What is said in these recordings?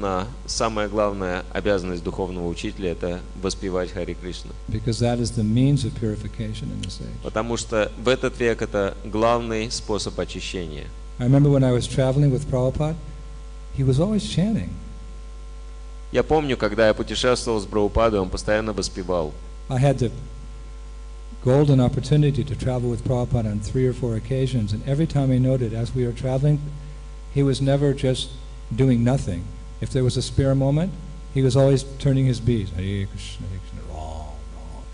вероятно, самая главная обязанность духовного учителя – это воспевать Хари Кришна. Because that is the means of purification in this age. Потому что в этот век это главный способ очищения. I remember when I was traveling with Prabhupada, he was always chanting. Я помню, когда я путешествовал с Прабхупадой, он постоянно воспевал. I had the golden opportunity to travel with Prabhupada on 3 or 4 occasions, and every time I noted as we were traveling, he was never just doing nothing. If there was a spare moment, he was always turning his beads. Hare Krishna, Hare Krishna, Ram, Ram.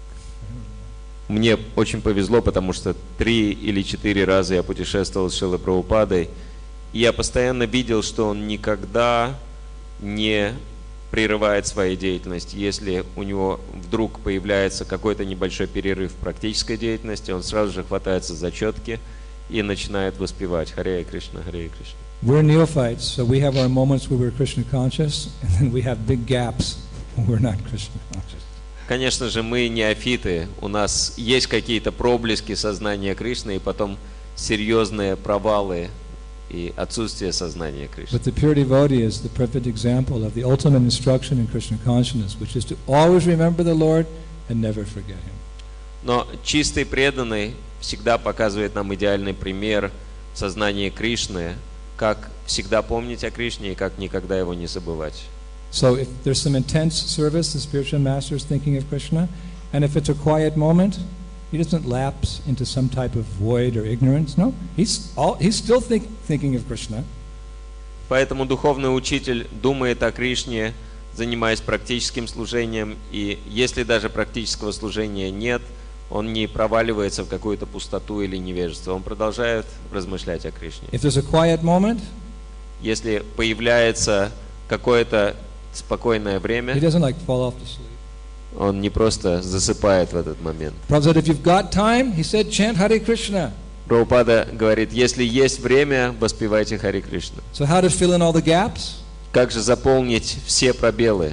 Мне очень повезло, потому что 3 или 4 раза я путешествовал с Шрилой Прабхупадой, и я постоянно видел, что он никогда не прерывает своей деятельности. Если у него вдруг появляется какой-то небольшой перерыв в практической деятельности, он сразу же хватается за четки и начинает воспевать Харе Кришна, Харе Кришна. We're neophytes, so we have our moments where we're Krishna conscious, and then we have big gaps when we're not Krishna conscious. Конечно же, мы неофиты, у нас есть какие-то проблески сознания Кришны, и потом серьезные провалы и отсутствие сознания Кришны. But the pure devotee is the perfect example of the ultimate instruction in Krishna consciousness, which is to always remember the Lord and never forget Him. Но чистый преданный всегда показывает нам идеальный пример в сознании Кришны, как всегда помнить о Кришне и как никогда его не забывать. So if there's some intense service, the spiritual master is thinking of Krishna, and if it's a quiet moment, he doesn't lapse into some type of void or ignorance. No, he's still thinking of Krishna. Поэтому духовный учитель думает о Кришне, занимаясь практическим служением, и если даже практического служения нет, он не проваливается в какую-то пустоту или невежество, он продолжает размышлять о Кришне. If there's a quiet moment, Если появляется какое-то спокойное he время, doesn't like fall off to sleep. он не просто засыпает в этот момент. Prabhupada said, if you've got time, he said, chant Hare Krishna. Прабхупада говорит, если есть время, воспевайте Хари Кришна. So how to fill in all the gaps? Как же заполнить все пробелы?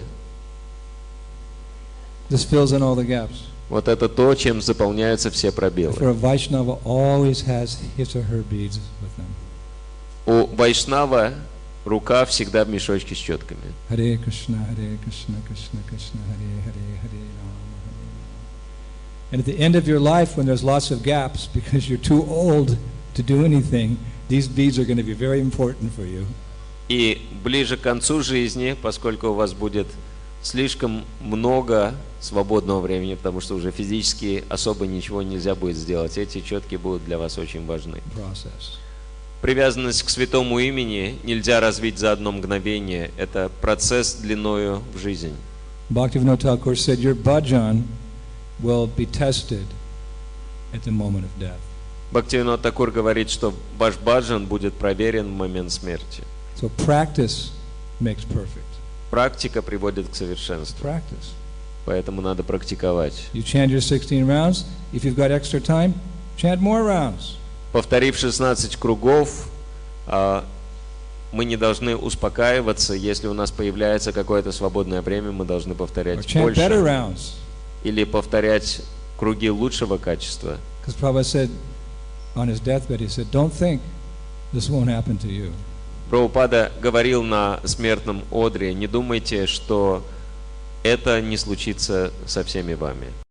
This fills in all the gaps. Вот это то, чем заполняются все пробелы. For a Vaishnava always has his or her beads with them. У Вайшнава рука всегда в мешочке с четками. Hare Krishna, Krishna Krishna, Hare Hare, Hare Rama, Hare Rama. And at the end of your life, when there's lots of gaps, because you're too old to do anything, these beads are going to be very important for you. И ближе к концу жизни, поскольку у вас будет слишком много свободного времени, потому что уже физически особо ничего нельзя будет сделать, эти четки будут для вас очень важны. Process. Привязанность к святому имени нельзя развить за одно мгновение. Это процесс длиною в жизнь. Bhaktivinoda Thakur said, your bhajan will be tested at the moment of death. Бхактивинод Такур говорит, что ваш баджан будет проверен в момент смерти. So practice makes perfect. Практика приводит к совершенству. Practice. Поэтому надо практиковать. You chant your 16 rounds. If you've got extra time, chant more rounds. Повторив 16 кругов, мы не должны успокаиваться. Если у нас появляется какое-то свободное время, мы должны Or повторять chant better больше. rounds. Или повторять круги лучшего качества. Because Prabhupada said on his deathbed, he said, don't think this won't happen to you. Прабхупада говорил на смертном одре, не думайте, что это не случится со всеми вами.